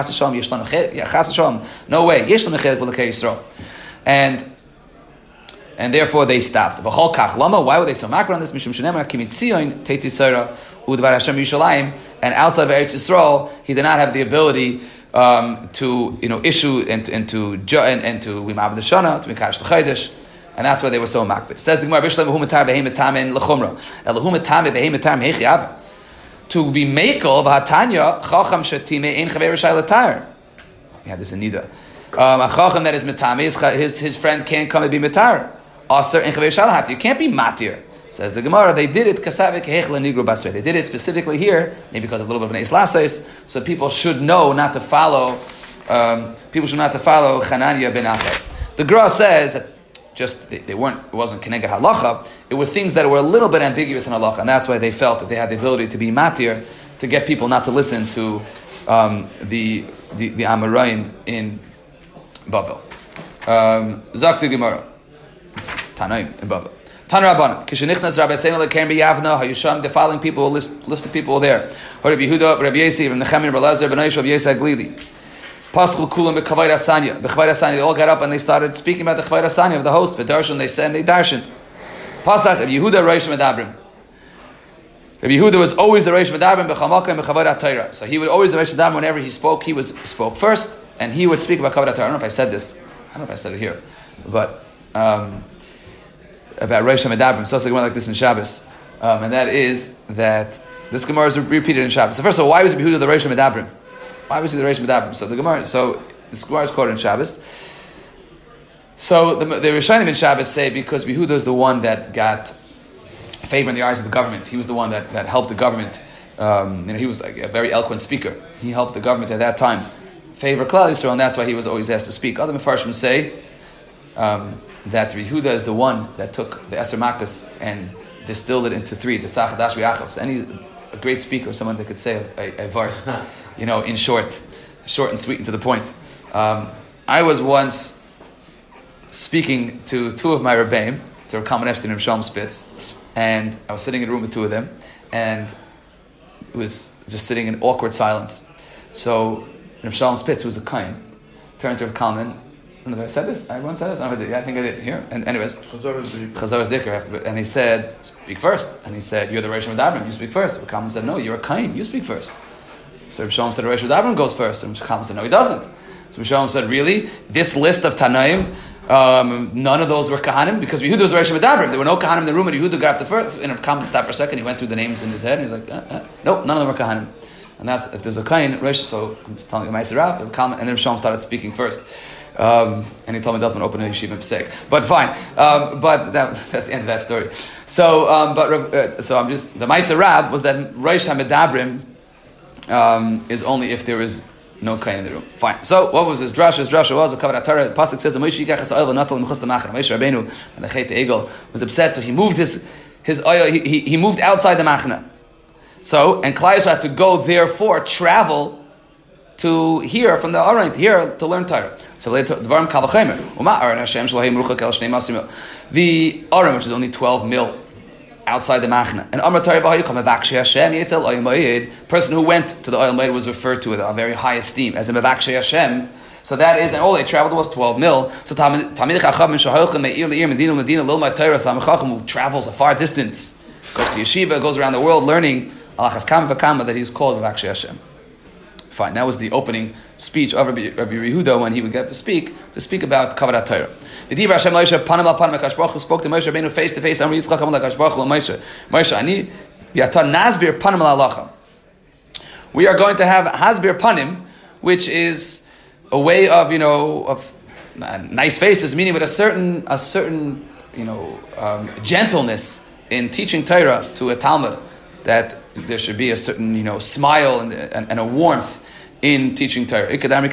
And therefore they stopped. V'chol kach lama. Why were they so makar on this? Mishum shenemar kimi tzion teiti tzara udvar Hashem Yishalayim. And outside of Eretz Yisrael, he did not have the ability to issue and to Wimab the Shana, to Mekadosh the Chodesh, and that's why they were so makbid. It says the Gemara Bishlam Humatar Behem Tamen Lechumra. Eluhumatar Behem Tamen Hechiab. To be Mekel v'Hatanya Chacham Shatime Ein Chaver Rishai Latar. We had this in Nida. A Chacham that is Metame, his friend can't come and be Metar. Aser Ein Chaver Rishai Lahat. You can't be Matir. Says the Gemara, they did it kasavik hechla nigru basrei. They did it specifically here, maybe because of a little bit of an eis, so people should know not to follow. People should not to follow Chananya ben Acher. The Gra says that just they weren't. It wasn't keneged halacha. It were things that were a little bit ambiguous in halacha, and that's why they felt that they had the ability to be matir to get people not to listen to the Amoraim in Bavel. Zakti Gemara, Tanaim in Bavel. Taner Rabbanan, Kishenichnas Rabbi Seinu leKeren b'Yavna, Hayusham, the following people, list of people there. Rabbi Yehuda, Rabbi Yosef, Rabbi Nechemia, Rabbi Elazar, Rabbi Yosef, Rabbi Yosef Glili. Paschal Kulam b'Kavod Asanya. B'Kavod Asanya, they all got up and they started speaking about the Kavod Asanya of the host. V'darshan, they said, and they darshaned. Pasach, Rabbi Yehuda, Reish Medabrim. Rabbi Yehuda was always the Reish Medabrim b'Chamakah and b'Kavod HaTorah. So he would always the Reish Medabrim whenever he spoke spoke first, and he would speak about Kavod HaTorah. I don't know if I said this. I don't know if I said it here, but about Reish Medabrim. So it's like this in Shabbos, and that is that this Gemara is repeated in Shabbos. So first of all, why was Rabbi Yehuda the Reish Medabrim? Why was he the Reish Medabrim? So the Gemara. So this Gemara is quoted in Shabbos. So the Rishonim in Shabbos say because Yehuda is the one that got favor in the eyes of the government. He was the one that helped the government. He was like a very eloquent speaker. He helped the government at that time favor Klal Yisrael, and that's why he was always asked to speak. Other Mefarshim say that Yehuda is the one that took the Eser Makkos and distilled it into three, the Tzach Hadash V'Yachav. So a great speaker, someone that could say a vart, in short and sweet and to the point. I was once speaking to two of my Rebbeim, to Rav Kalman Epstein and Rav Shalom Spitz, and I was sitting in a room with two of them, and it was just sitting in awkward silence. So Rav Shalom Spitz, who was a Kain, turned to Rav Kalman. I don't know if I said this. I once said this. I think I did here. And anyways, Chazar's Dikr, and he said, "Speak first." And he said, "You're the Reish Medabrim. You speak first." Rav Kalman said, "No, you're a Kain. You speak first." So Rav Shalom said, "Reish Medabrim goes first." And Rav Kalman said, "No, he doesn't." So Rav Shalom said, "Really? This list of Tanaim, none of those were Kahanim, because Yehuda was Reish Medabrim. There were no Kahanim in the room, and Yehuda got up the first." And Rav Kalman stopped for a second. He went through the names in his head, and he's like, "Nope, none of them were Kahanim." And that's if there's a Kain Reish. So I'm just telling you, Ma'aser Rav, Rav Kalman, and then Rav Shalom started speaking first. And he told me doesn't open a yeshiva psek, but fine. But that's the end of that story. So, so I'm just the Ma'aser Rab was that Reish HaMedabrim is only if there is no kain in the room. Fine. So what was his drasha? His drasha was Kavod HaTorah. The pasuk says Moshe yikach es ha'oil v'natal l'mechus l'machar. Moshe Rabbeinu and the Chet Egel was upset, so he moved his oil. He moved outside the machna. So and Klal Yisrael had to go, therefore travel to hear from the Aron, to learn Torah. So the Dvarim Kal V'Chomer. Uma Aron Hashem Shelo Meruchak El Shnei Masim. The Aron, which is only 12 mil outside the Machna, and Amar Torah B'Hayu Kol Mevakshei Hashem Yetzel Oyel Moed. Person who went to the Oyel Moed was referred to with a very high esteem as a Mevakshei Hashem. So that is, and all they traveled was 12 mil. So Talmidei Chacham Shahochem Me'ir Le'ir Medina Lilmad Torah. Talmid Chacham who travels a far distance, goes to yeshiva, goes around the world learning Alachas Kama V'Kama, that he is called Mevakshei Hashem. Fine, that was the opening speech of Rabbi Yehuda when he would get up to speak about Kavod HaTorah. V'div Hashem Moshe panim al panim HaKadosh Baruch Hu spoke to Moshe Rabbeinu face to face. Amar Yitzchak Amar HaKadosh Baruch Hu Moshe ani v'yata nasbir panim al halacha. We are going to have hasbir panim, which is a way of nice faces, meaning with a certain gentleness in teaching Torah to a Talmud, that there should be a certain smile and a warmth in teaching Torah. He was telling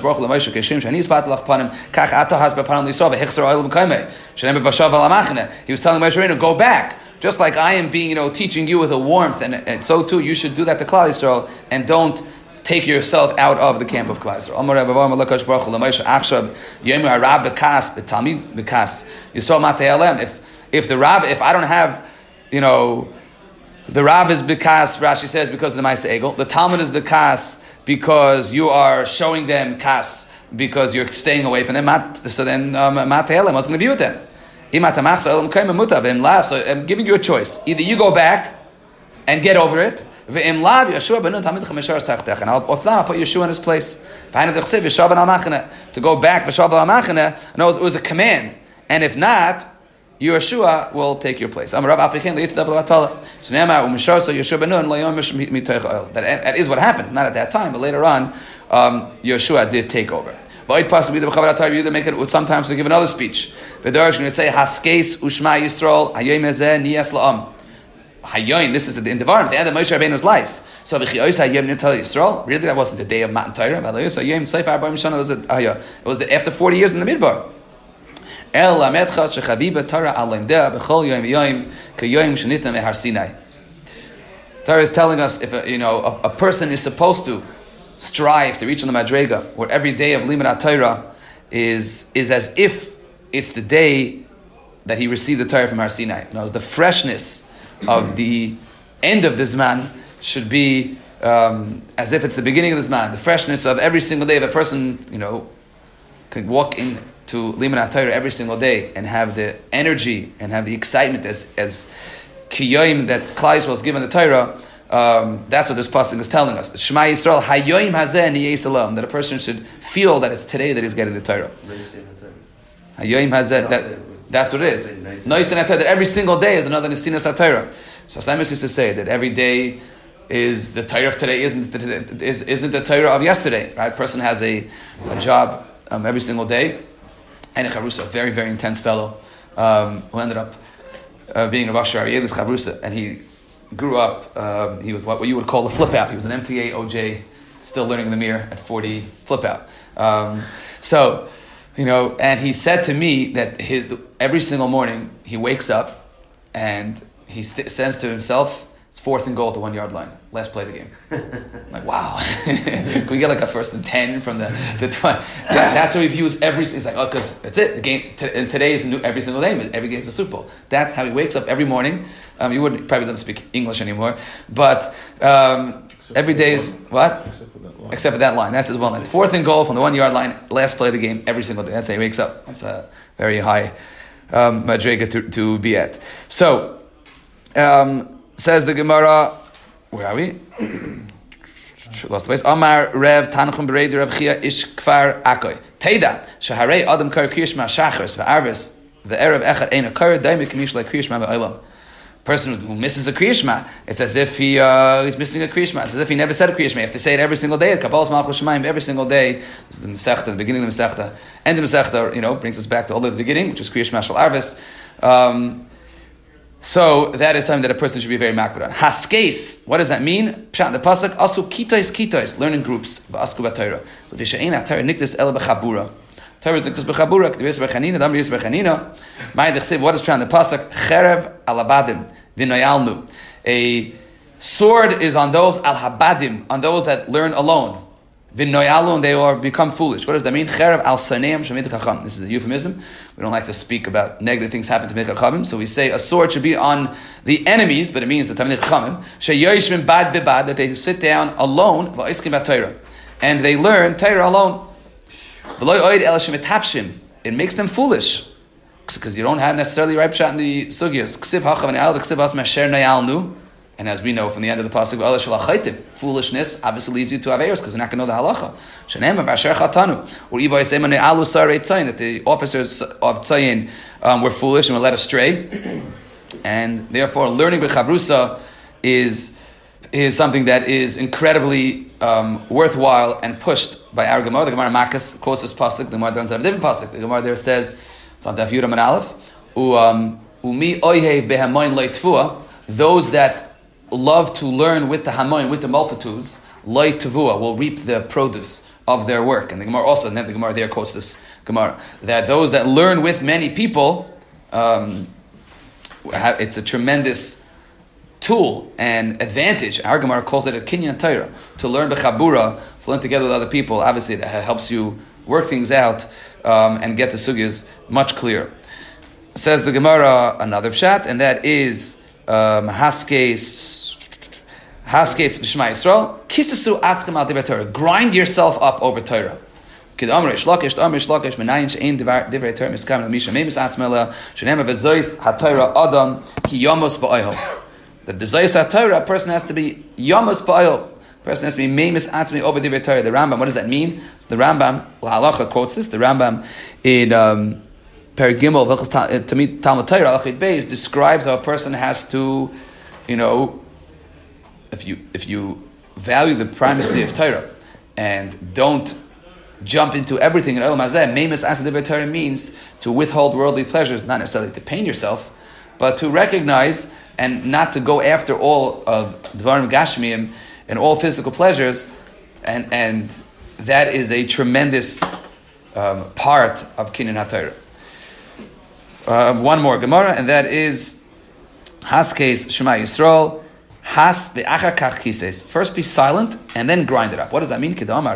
Moshe Rabbeinu, go back, just like I am being teaching you with a warmth, and so too you should do that to Klal Yisrael, and don't take yourself out of the camp of Klal Yisrael. If I don't have the Rab is Bikas, Rashi says, because of the Ma'aseh Egel. The Talmud is the Kas because you are showing them Kas, because you're staying away from them. So then, Matei what's going to be with them? So I'm giving you a choice. Either you go back and get over it, and I'll put Yeshua in his place. To go back, no, it was a command. And if not, Yeshua will take your place. That is what happened. Not at that time, but later on, Yeshua did take over. Ba'id Pasuk B'Yudah B'Chavar HaTorah, you make it sometimes to give another speech. V'Darash, when you say, Haskeis Ushma Yisrael, Hayoim Ezeh Niyas La'am. Hayoim, this is in the environment, the end of Moshe Rabbeinu's life. So V'Chiyos Hayoim Nital Yisrael, really that wasn't the day of Matan Torah, but Hayoim Seif Arba'im Shana, it was after 40 years in the Midbar. El Lamedcha Shechaviba Torah Alimdeh B'Chol Yoim Yoim K'Yoim Shenitam Ehar Sinai. Torah is telling us if a person is supposed to strive to reach on the Madrega, where every day of Limud HaTorah is as if it's the day that he received the Torah from Har Sinai. The freshness of the end of this man should be as if it's the beginning of this man. The freshness of every single day of a person, can walk into Limud HaTorah every single day and have the energy and have the excitement as Kiyoim that Klal Yisrael was given the Torah. That's what this pasuk is telling us. The Shema Yisrael Hayoim Hazeh Niyei Salam, that a person should feel that it's today that he's getting the Torah. Hayoim Hazeh, that's what it is. Nois and that every single day is another Nesinas HaTorah. So Simon used to say that every day is the Torah of today, isn't the Torah of yesterday. Right? A person has a job every single day. And a Chavrusa, a very, very intense fellow, who ended up being a Rosh Hashanah's Chavrusa, and he grew up, he was what you would call a flip out. He was an MTA OJ, still learning the mirror at 40, flip out. And he said to me that every single morning he wakes up and he says to himself, it's 4th and goal at the 1 yard line. Let's play the game. I'm like, wow. Can we get like a 1st and 10 from the 20? That's how he views every. It's like, because that's it. The game and today is new. Every single day. Every game is a Super Bowl. That's how he wakes up every morning. He probably doesn't speak English anymore, but every day is what? Except for that line. That's his one line. It's 4th and goal from the 1 yard line. Last play of the game every single day. That's how he wakes up. That's a very high madrega to be at. So. Says the Gemara, where are we? Lost the place. Amar Rev Tanachum Beredi Rev Chia Ish Kfar Akoy. Teida Shaharei Adam Kar Kriyishma Shachars VeArvis VeErev Echad Ein Akar Daimi Kamish like Kriyishma VeOlam. Person who misses a Kriyishma, it's as if he's missing a Kriyishma. It's as if he never said a Kriyishma. You have to say it every single day. Kabbalas Malchus Shemayim every single day. This is the Masechta, the beginning of the Masechta, and the Masechta, brings us back to all the beginning, which is Kriyishma Shal Arvis. So that is something that a person should be very makbid on. Haskeis, what does that mean? Pshat the pasuk asu kitois learn in groups. V'asku b'Torah. V'vishayin Torah nikdas el b'chabura. Torah is nikdas b'chabura. K'divus b'chanina. Dam yus b'chanina. Ma'id chsiv. What is pshat the pasuk? Cherev al habadim v'noyalnu. A sword is on those al habadim, on those that learn alone. V'noyalu, and they become foolish. What does that mean? Cherev al saneim shemid chacham. This is a euphemism. We don't like to speak about negative things happen to Talmidei Chachamim, so we say a sword should be on the enemies, but it means the Talmidei Chachamim. Sheyoshvim bad bebad, that they sit down alone, va'iskim b'Torah, and they learn Torah alone. V'lo oid el shemitapshim. It makes them foolish because you don't have necessarily right pshat in the sugyas. Ksiv hachav v'ne'al v'ksiv as mesher nayalnu. And as we know from the end of the pasuk, foolishness obviously leads you to averos because you're not going to know the halacha. That the officers of Tzayin were foolish and were led astray, and therefore learning b'chavrusa is something that is incredibly worthwhile and pushed by our Gemara. The Gemara Marcus quotes this pasuk. The Gemara doesn't have a different pasuk. The Gemara there says it's on Daf Yudam and Aleph. Umi oyhev behamoin leitfua. Those that love to learn with the hamoin, with the multitudes, loy tavua, will reap the produce of their work. And the Gemara also, and then the Gemara there quotes this Gemara, that those that learn with many people, it's a tremendous tool and advantage. Our Gemara calls it a kinyan Torah, to learn b'chabura, to learn together with other people. Obviously, that helps you work things out and get the sugyas much clearer. Says the Gemara another pshat, and that is Haskes B'Shema Yisrael Kisasu Atzkem Al Divrei Torah. Grind yourself up over Torah. Kid Amr Shlakish Menayin She'ein Divrei Torah Miskam L'Misha Memis Atzmela She'nema V'Zois HaTorah Adam Ki Yomos Ba'oil. The Zois HaTorah, a person has to be Yomos Ba'oil. A person has to be Memis Atzmi over Divrei Torah. The Rambam, what does that mean? So the Rambam, L'Halacha quotes this. The Rambam in Perigimel Tamid Talmud Torah Alachid Beis describes how a person has to, if you value the primacy of Torah and don't jump into everything in Olam Hazeh. Meimus Asa Divrei Torah means to withhold worldly pleasures, not necessarily to pain yourself, but to recognize and not to go after all of Dvarim Gashmiim and all physical pleasures, and that is a tremendous part of Kinyan HaTorah. One more Gemara, and that is Haskes Shema Yisrael. Has ve'achar kach kises. First be silent and then grind it up. What does that mean?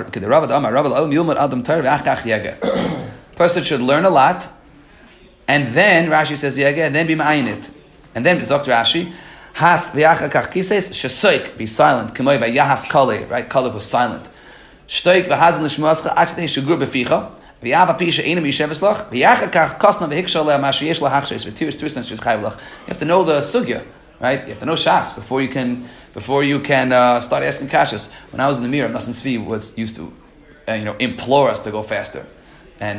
Person should learn a lot, and then Rashi says yege, and then be ma'ayin it. And then Zok Rashi, has ve'achar kach kises shesoik, be silent. K'moi v'yahas kale, right? Kalev was silent. Shtoik v'hazin l'shmuascha achetei shugur beficha. V'yava pisha enim yisheveslach. V'yachar kach kosna v'hikshal le'amashi yesh lahachshes v'tiris tristan she's chayvlach. You have to know the sugya. Right? You have to know Shas before you can start asking kashas. When I was in the Mir, Nassim Tzvi used to implore us to go faster, and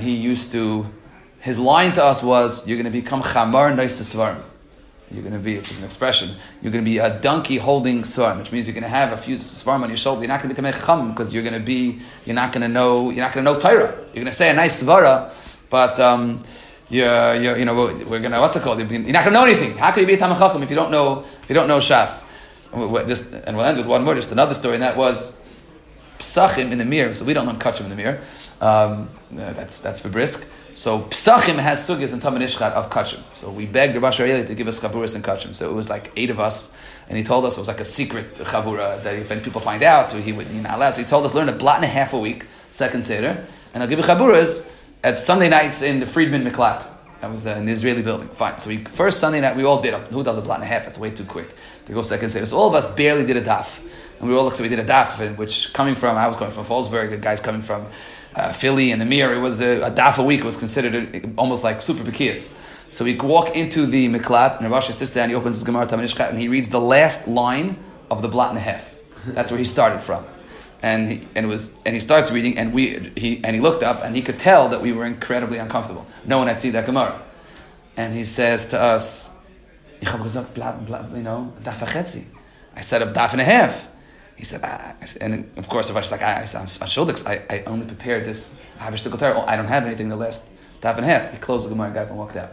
his line to us was, "You're going to become chamar nois svarim." You're going to be, which is an expression, you're going to be a donkey holding svarim, which means you're going to have a few svarim on your shoulder. You're not going to be tamei chacham because you're not going to know Torah. You're going to say a nice svara, but we're gonna, what's it called? You're not gonna know anything. How could you be a Talmid Chacham if you don't know Shas? And we'll end with one more, just another story, and that was Psachim in the Mir. So we don't learn Kachim in the Mir. That's for brisk. So Psachim has sugyas and Talmid Ishchat of Kachim. So we begged Rabbi Sharieli to give us chaburas and Kachim. So it was like 8 of us, and he told us it was like a secret chabura that if any people find out, he would not allowed. So he told us learn a blot and a half a week, second seder, and I'll give you chaburas at Sunday nights in the Friedman Miklat. That was in the Israeli building. Fine. So first Sunday night, we all did it. Who does a blot and a half? That's way too quick to go second seder. So all of us barely did a daf. And we all looked, so we did a daf, which I was coming from Fallsburg, the guys coming from Philly and the Mir, it was a daf a week. It was considered almost like super bekiyas. So we walk into the Miklat, and Rav Asher sits down, he opens his Gemara Talmid Ishchat, and he reads the last line of the blot and a half. That's where he started from. And he starts reading, and he looked up, and he could tell that we were incredibly uncomfortable. No one had seen that Gemara, and he says to us, daf v'chetzi. I said a daf and a half. He said, and of course, Rav Asher I only prepared this. I don't have anything the last daf and a half. He closed the Gemara, got up, and walked out.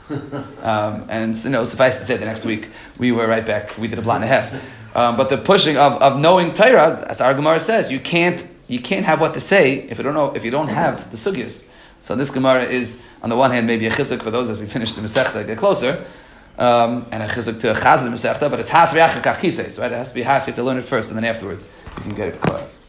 And suffice to say, the next week we were right back. We did a blot and a half. But the pushing of knowing Torah, as our Gemara says, you can't have what to say if you don't have the sugyas. So this Gemara is, on the one hand, maybe a chizuk for those as we finish the Masechta, get closer, and a chizuk to chazal the Masechta, but it's has v'yachar kach kises, right? It has to be has. You have to learn it first, and then afterwards you can get it clear.